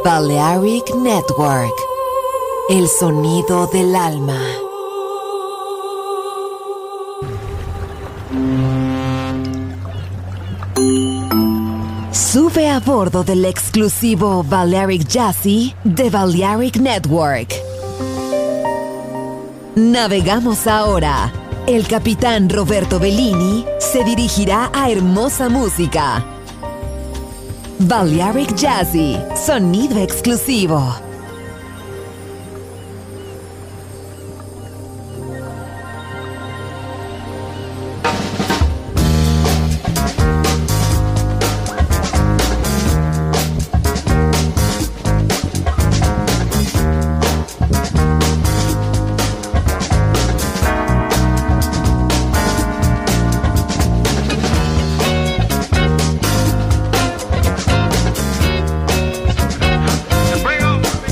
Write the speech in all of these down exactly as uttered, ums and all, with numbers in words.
Balearic Network, el sonido del alma. Sube a bordo del exclusivo Balearic Jazzy de Balearic Network. Navegamos ahora. El capitán Roberto Bellini se dirigirá a hermosa música. Balearic Jazzy, sonido exclusivo. Bring 'em.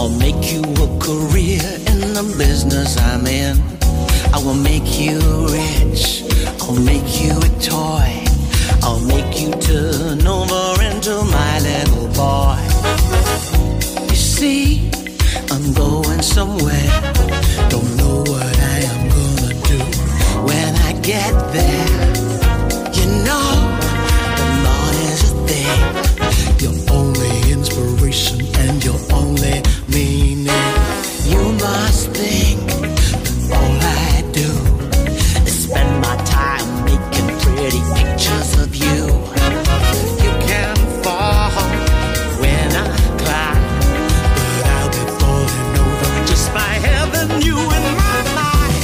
I'll make you a career in the business I'm in. I will make you rich, I'll make you a toy. I'll make you turn over into my little boy. You see, I'm going somewhere. Don't know what I am gonna do when I get there. You know, the money's a thing. Your only inspiration and your only meaning. You must think that all I do is spend my time making pretty pictures of you. You can fall when I climb, but I'll be falling over just by having you in my mind.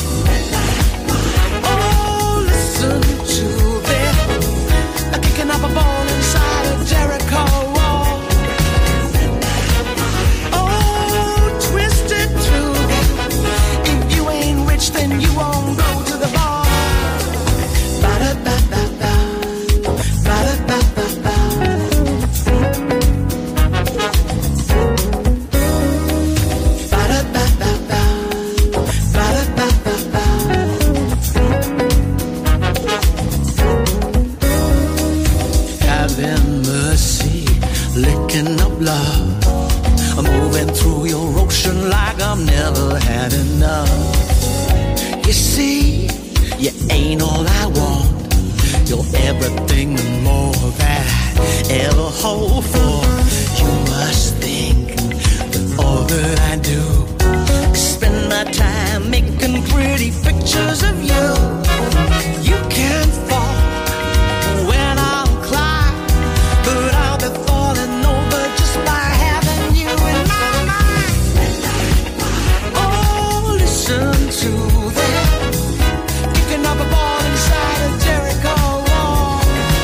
Oh, listen to them, kicking up a ball inside a Jericho wall. Oh, twist it to them. If you ain't rich, then you won't go to the bar. Ba-da-ba-ba-ba. Ba-da-ba-ba-ba. Ba-da-ba-ba-ba. Ba-da-ba-ba-ba. Having mercy, licking up love. I'm moving through your ocean like I've never had enough. You see, you ain't all I want. You're everything and more that I ever hope for. You must think that all that I do is spend my time making pretty pictures of you. You can't fall when I'll climb, but I'll be falling over just by having you in my mind. Oh, listen to them, kicking up a ball inside a Jericho wall.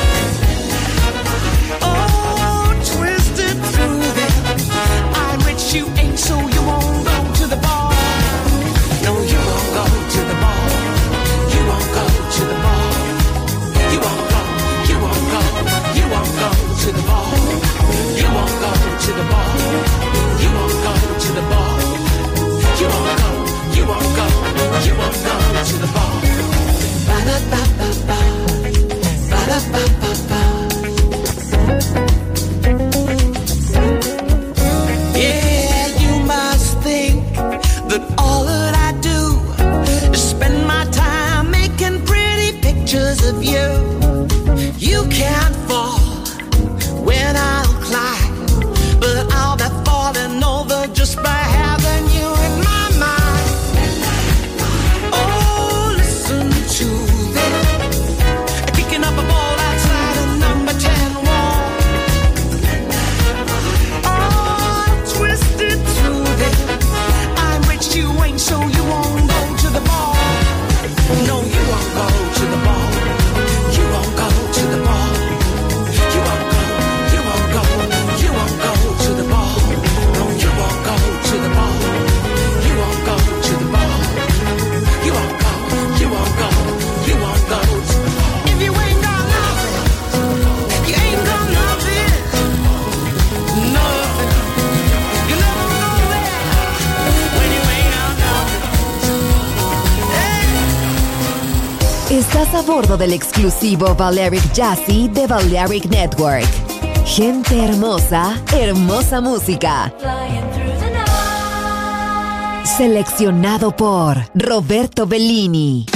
Oh, twist it through them. I'm rich, you ain't, so you won't go to the bar. No, you won't go to the bar. You won't go to the bar. You won't go, you won't go, you won't go to the bar. You won't go to the bar. You won't go to the bar. You won't go, you won't go, you won't go to the bar. Ba-da-ba-ba-ba. Ba-da-ba-ba-ba. Yeah, you must think that all that I do is spend my time making pretty pictures of you. You can't fall when I'll climb, but I'll be falling over just by having you in my mind. Oh, listen to them, kicking up a ball outside a number ten wall. Oh, twist it to them. I'm rich, you ain't, so you won't go to the bar. No, you won't go to the bar. You won't go to the bar. You won't go, you won't go, you won't go to the bar. No, you won't go to the bar. You won't go to the bar. You won't go, you won't go, you won't go to the bar. If you ain't got nothing, you ain't got nothing. Nothing. You never know where when you ain't got nothing. Hey. Estás a bordo del exclusivo Balearic Jazzy de Balearic Network. Gente hermosa, hermosa música. Seleccionado por Roberto Bellini.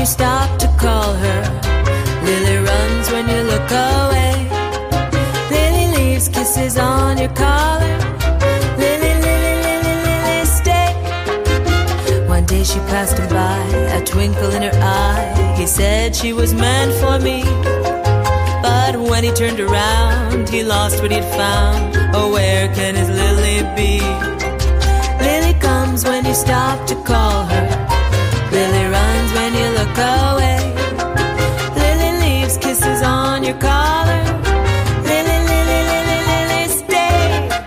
you stop to call her. Lily runs when you look away. Lily leaves kisses on your collar. Lily, Lily, Lily, Lily, stay. One day she passed him by, a twinkle in her eye. He said she was meant for me. But when he turned around, he lost what he'd found. Oh, where can his Lily be? Lily comes when you stop to call her. Lily runs when you look away. Lily leaves kisses on your collar. Lily, Lily, Lily, Lily, stay.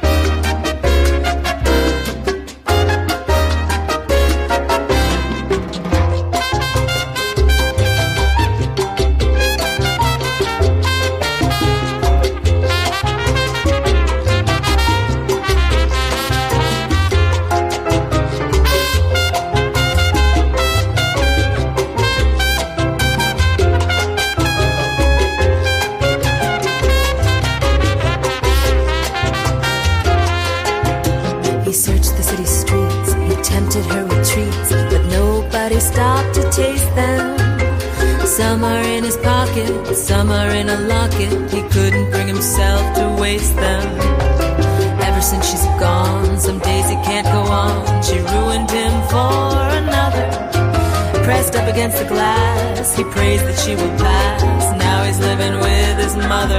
Some are in his pocket, some are in a locket. He couldn't bring himself to waste them. Ever since she's gone, some days he can't go on. She ruined him for another. Pressed up against the glass, he prays that she will pass. Now he's living with his mother.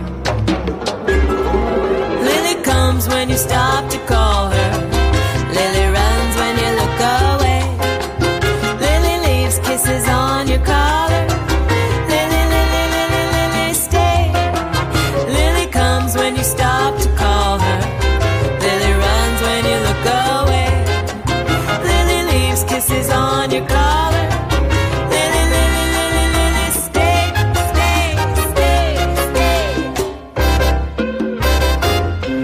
Lily comes when you stop to call her. Lily runs when you look away. Lily leaves kisses on your collar. When you stop to call her, Lily runs when you look away. Lily leaves kisses on your collar. Lily, Lily, Lily, Lily, stay, stay, stay,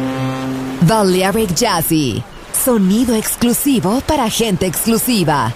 stay. Balearic Jazzy, sonido exclusivo para gente exclusiva.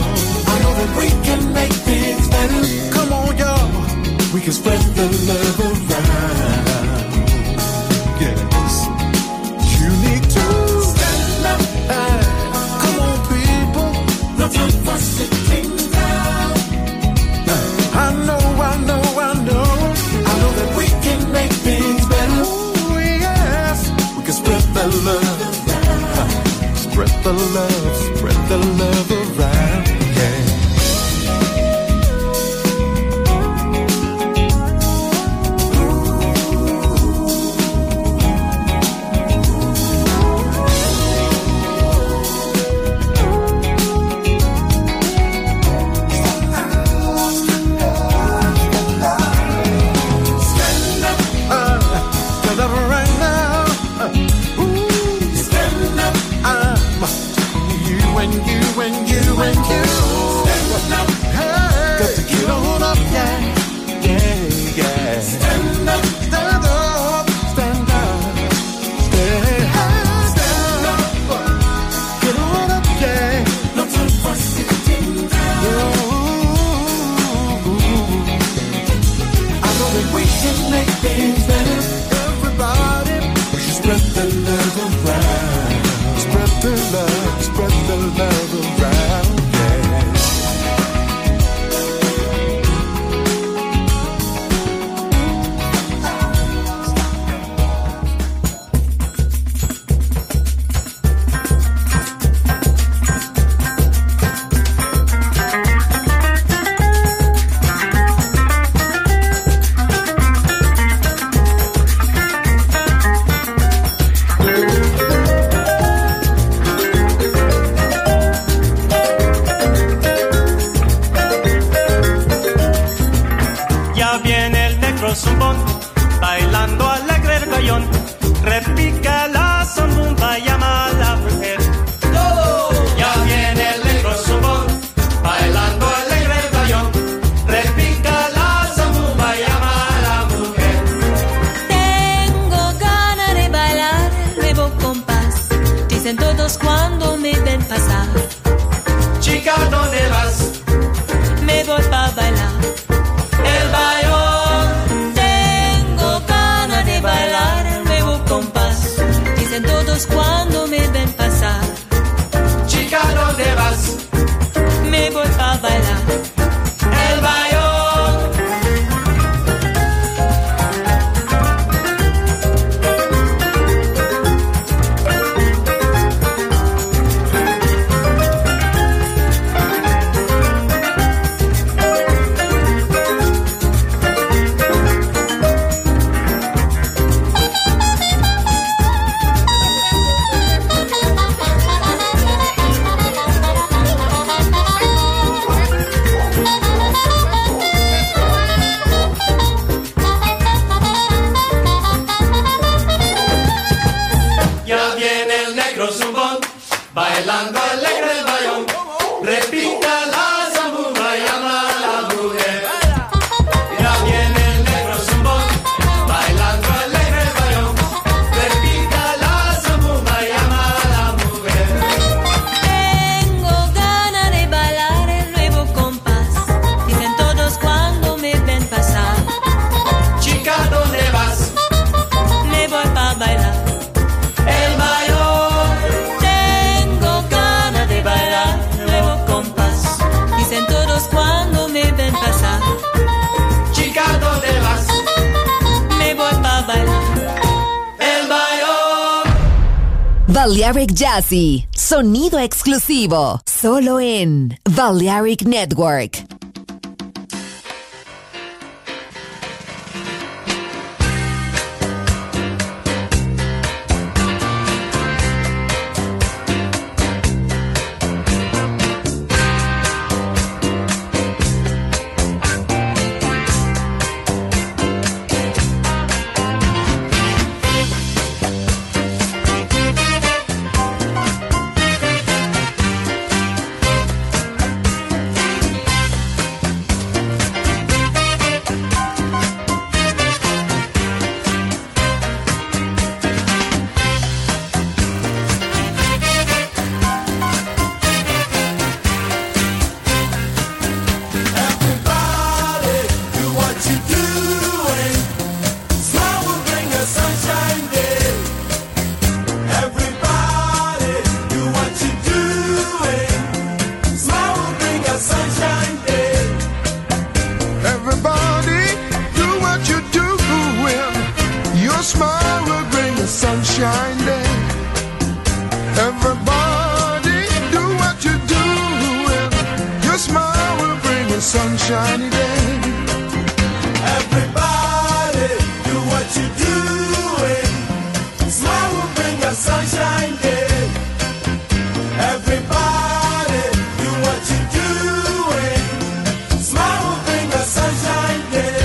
We can spread the love Ya viene el negro zumbón, bailando alegre el bayón. Repica la zambomba, llama a la mujer. Ya viene el negro zumbón, bailando alegre el bayón. Repica la zambomba, llama a la mujer. Tengo ganas de bailar el nuevo compás. Dicen todos cuando me ven pasar. Chica, ¿dónde vas? Me voy pa' bailar El bayón. Tengo ganas de bailar el nuevo compás. Dicen todos cuando me ven pasar. Chica, ¿dónde vas? Me voy pa' bailar El bayón. Ya viene el negro zumbón, bailando alegre el bayón. Repica la zambomba, llama a la mujer. Ya viene el negro zumbón, bailando alegre el bayón. Repica la zambomba, llama a la mujer. Tengo ganas de bailar el nuevo compás. Dicen todos cuando me ven pasar. Chica, ¿dónde vas? Me voy pa' bailar El bayón. Tengo ganas de bailar el nuevo compás. Dicen todos cuando me ven pasar. Chica, ¿dónde vas? Me voy pa' bailar El bayón. Balearic Jazzy, sonido exclusivo, solo en Balearic Network. sunshine day. Everybody do what you're doing. Your smile will bring a sunshiny day. Everybody do what you're doing. Smile will bring a sunshine day. Everybody do what you're doing. Smile will bring a sunshine day.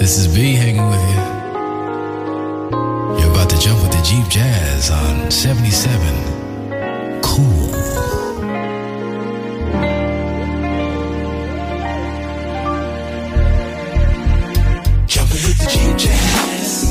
This is V hanging with you. You're about to jump with the Jeep Jazz on seventy-seven. Cool. Jumping with the Jeep Jazz.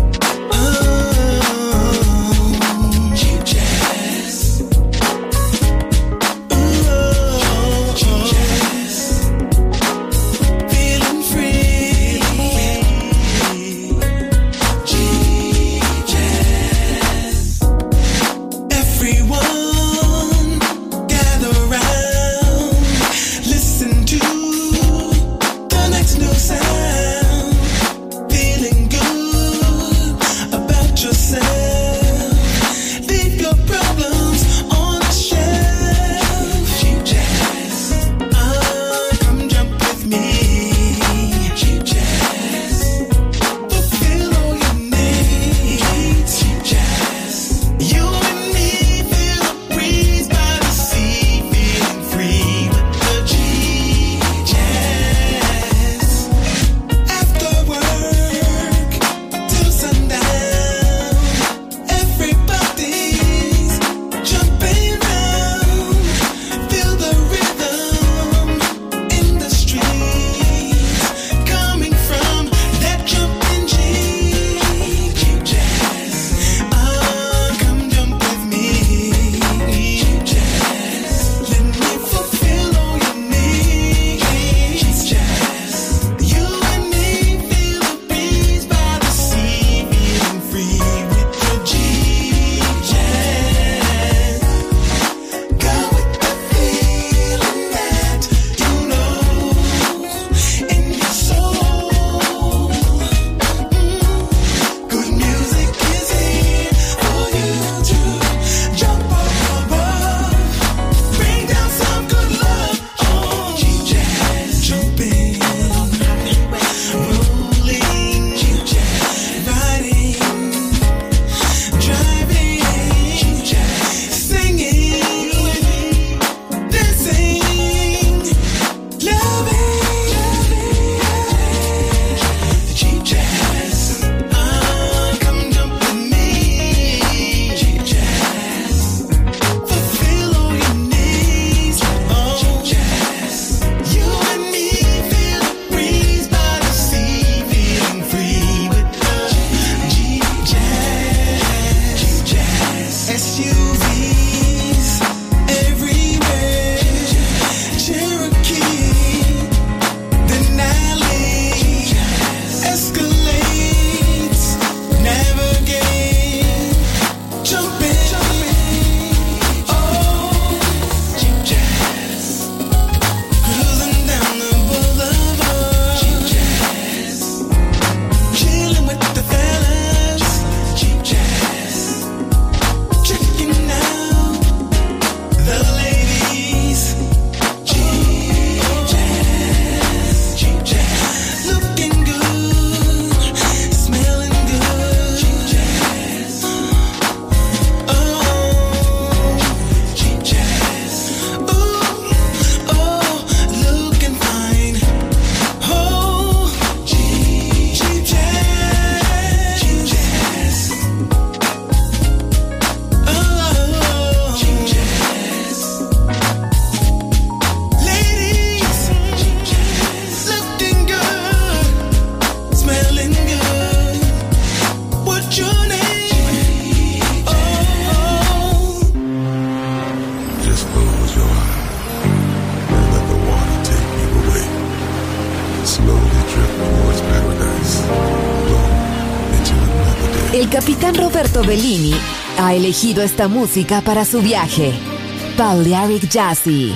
El capitán Roberto Bellini ha elegido esta música para su viaje. Balearic Jazzy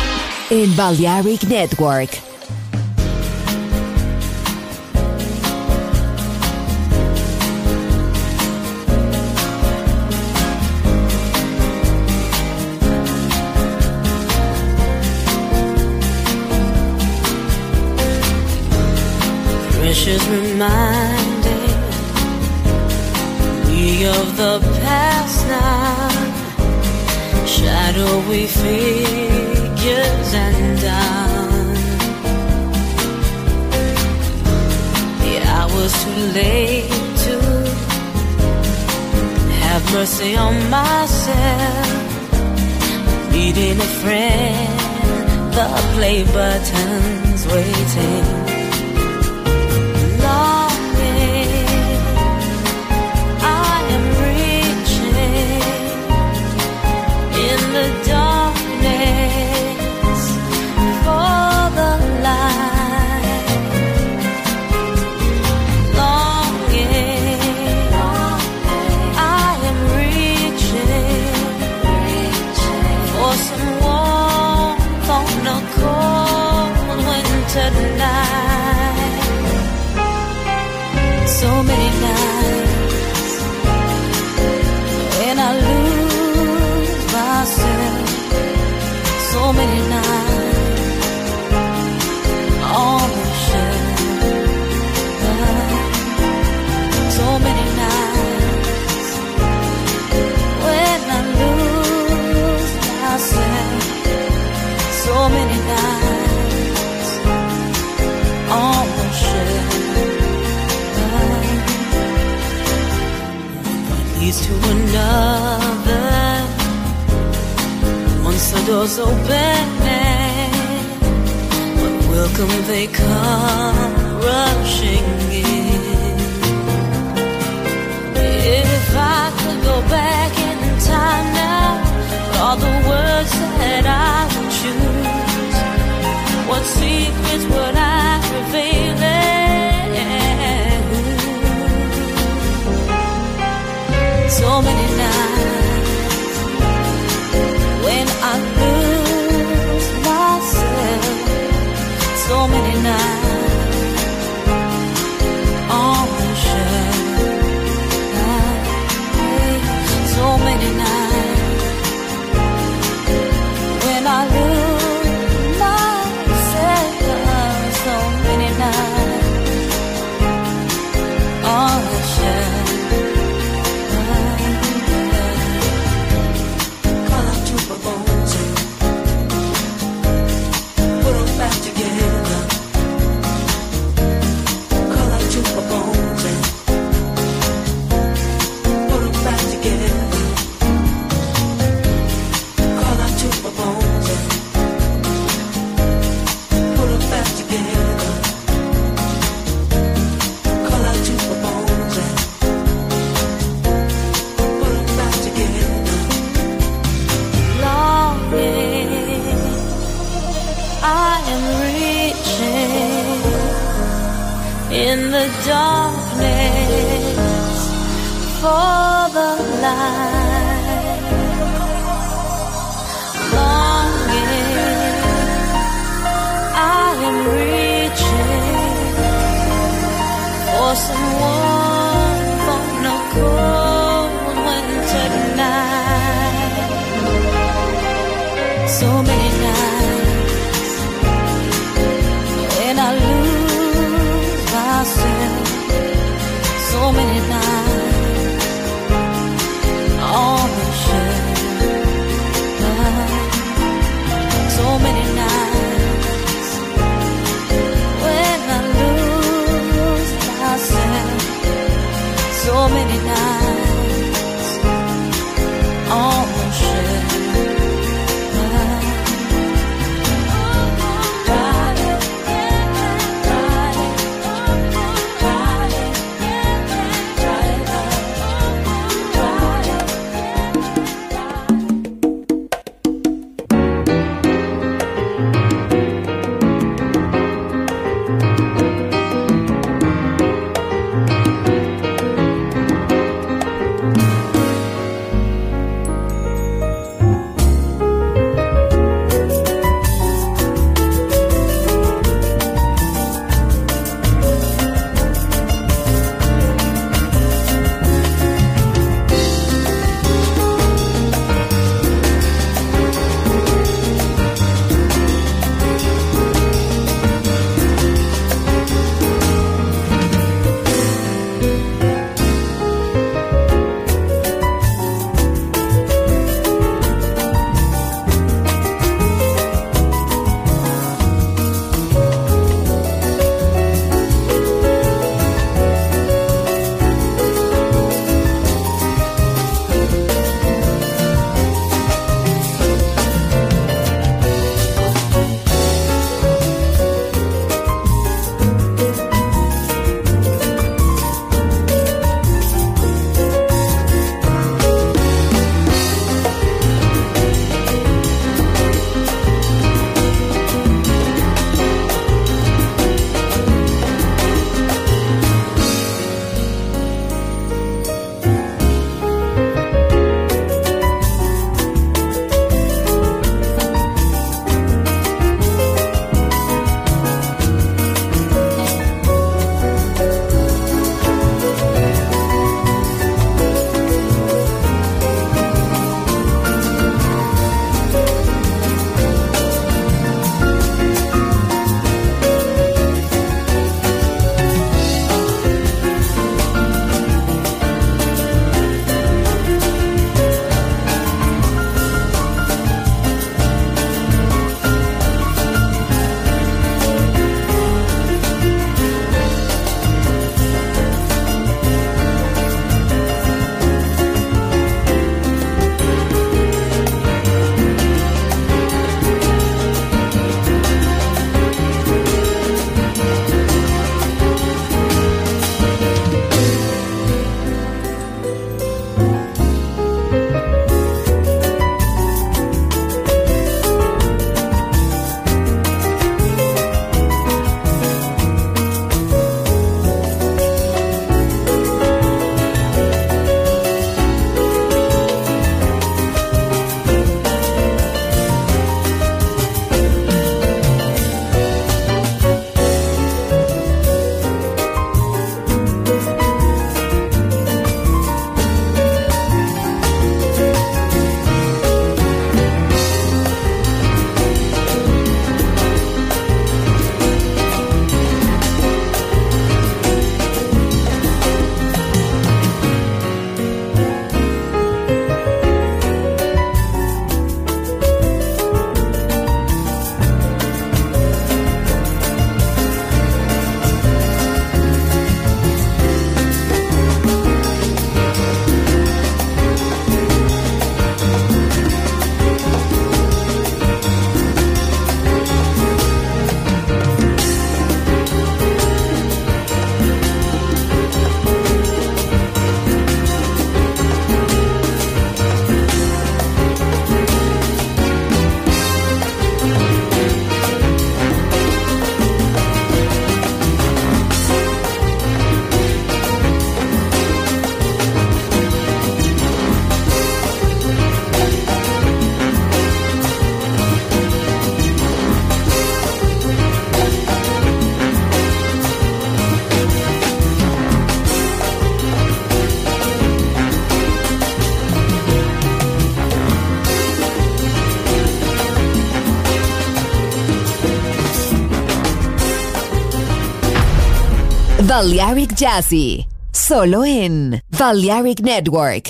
en Balearic Network. Precious reminded we of the past now, shadowy figures and down. The too late to have mercy on myself. Needing a friend, the play button's waiting. Longing, I am reaching in the darkness for the light. Longing, I am reaching for some warmth on a cold winter night. So many nights when I lose myself. So many nights on the shelf. So many nights when I lose myself. So many nights on the shelf. One leads to another. Once the doors open, but welcome they come rushing in. If I could go back in time now, all the words that I would choose, what secrets would I reveal? So many nights when I lose myself. So many nights on the shelf. So many nights when I lose myself. So many nights on the shelf. Call out to my bones and put them back together. Call out to my bones and put them back together. Call out to my bones and put them back together. Call out to my bones and put them back together. Longing, I am reaching in the darkness for the light. Longing, I am reaching for some warmth on a cold winter night. So many nights when I lose myself. So many nights on the shelf. So many nights when I lose myself. So many nights on the shelf. Try Balearic Jazzy, solo en Balearic Network.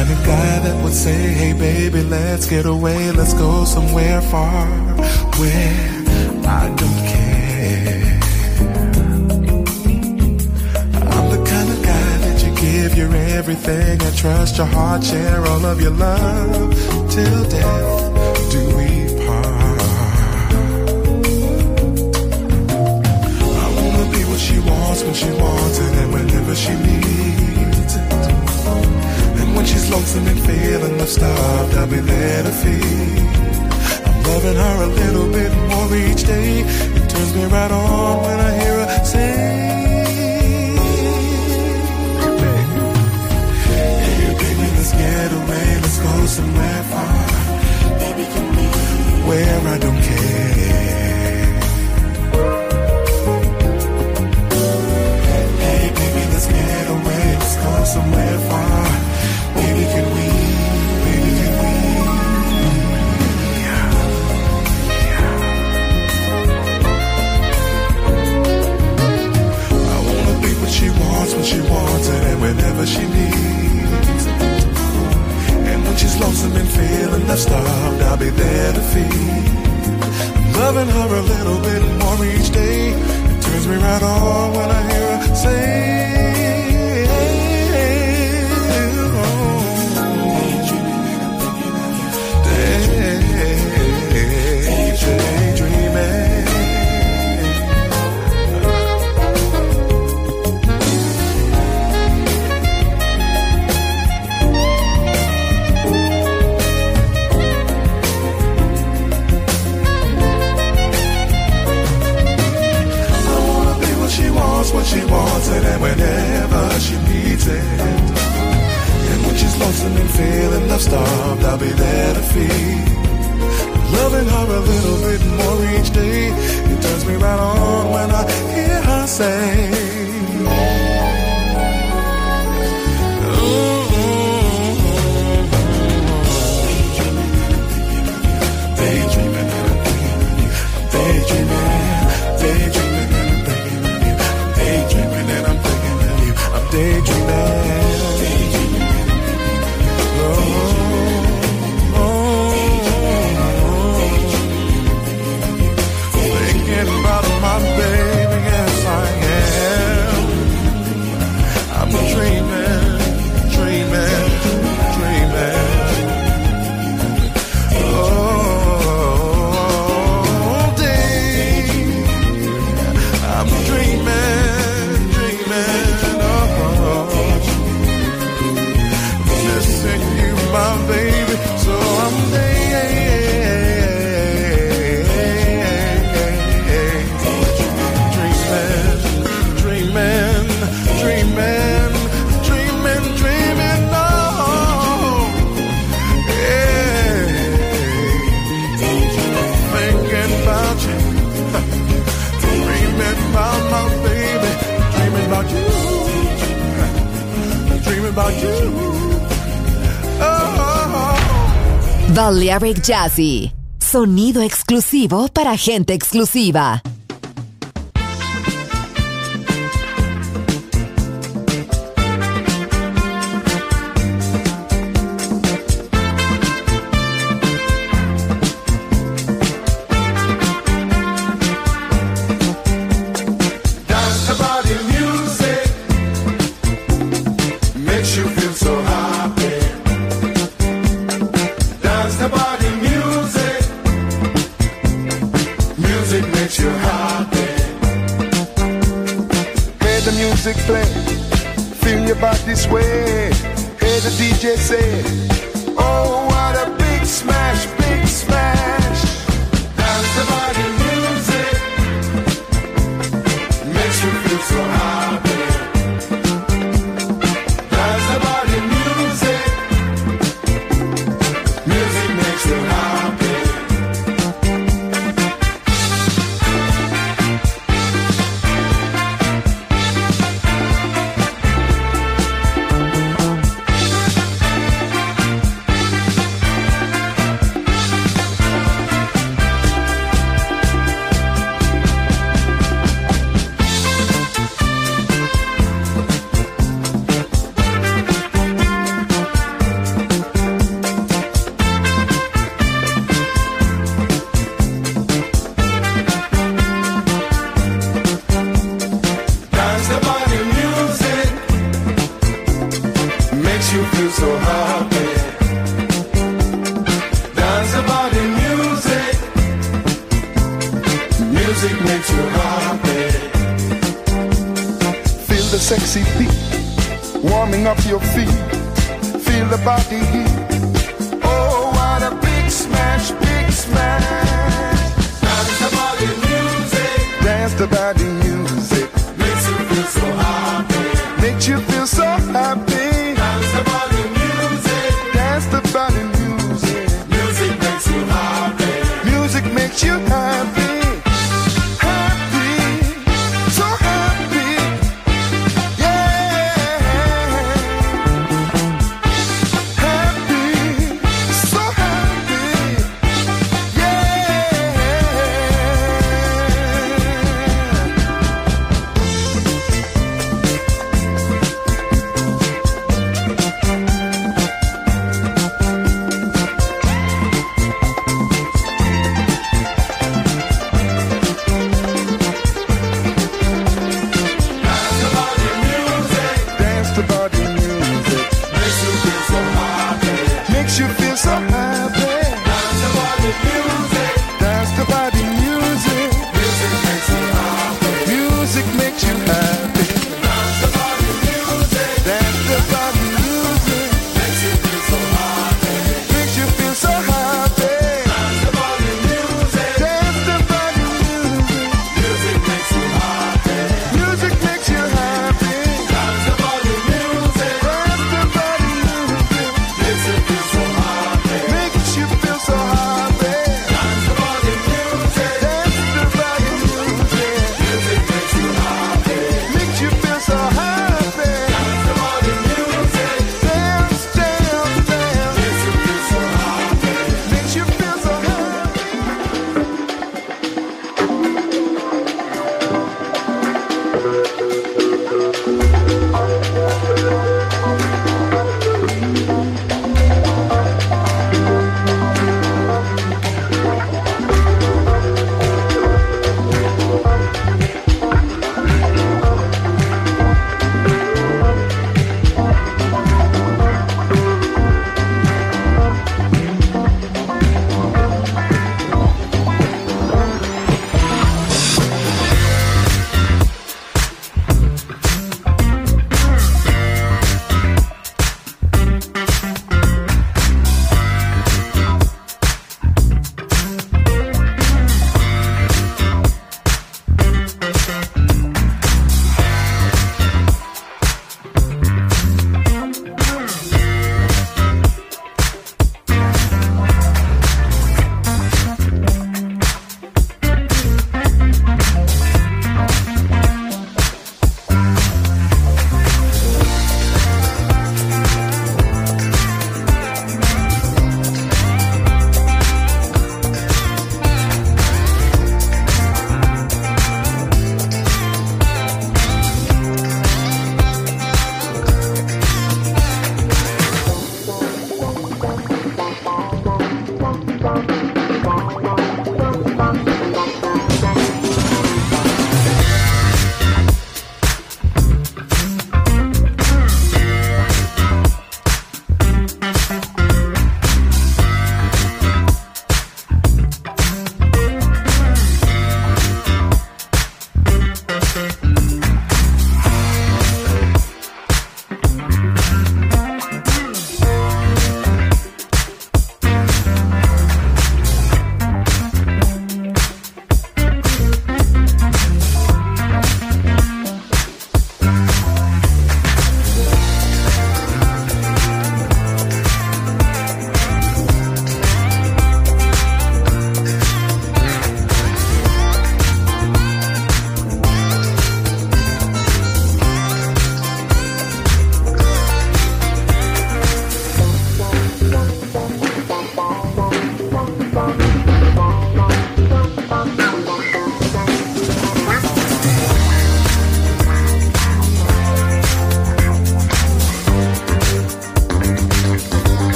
kind of guy that would say, hey baby, let's get away, let's go somewhere far where I don't care. I'm the kind of guy that you give your everything and trust your heart, share all of your love till death do we part. I wanna be what she wants when she wants it and whenever she needs it. And when she's lonesome and feeling love starved, I'll be there to feed. I'm loving her a little bit more each day. It turns me right on when I hear her say, hey baby, let's get away, let's go somewhere far, baby, can we, where I don't care. Hey baby, let's get away, let's go somewhere far, baby, can we, baby, can we. Yeah. Yeah. I wanna be what she wants when she wants it and whenever she needs it. And when she's lonesome and feeling left starved, I'll be there to feed. I'm loving her a little bit more each day. It turns me right on when I hear her say, what she wants it and whenever she needs it. And when she's lonesome and feeling love starved, I'll be there to feed. I'm loving her a little bit more each day. It turns me right on when I hear her say, daydreaming, daydreaming, daydreaming. Daydreaming and I'm thinking of you. I'm daydreaming. Oh, oh, oh. Thinking about my baby, yes I am. I'm dreaming, dreaming, dreaming. Oh, day, I'm dreaming. My baby, so I'm dreaming, dreaming, dreaming, dreaming, dreaming, oh, yeah, thinking about you, dreaming about my baby, dreaming about you, dreaming about you. Balearic Jazzy, sonido exclusivo para gente exclusiva. feel so happy. Dance about the music. Music makes you happy. Feel the sexy beat warming up your feet. Feel the body heat. Oh, what a big smash, big smash. Dance about the music. Dance about the music. Makes you feel so happy. Makes you feel so happy.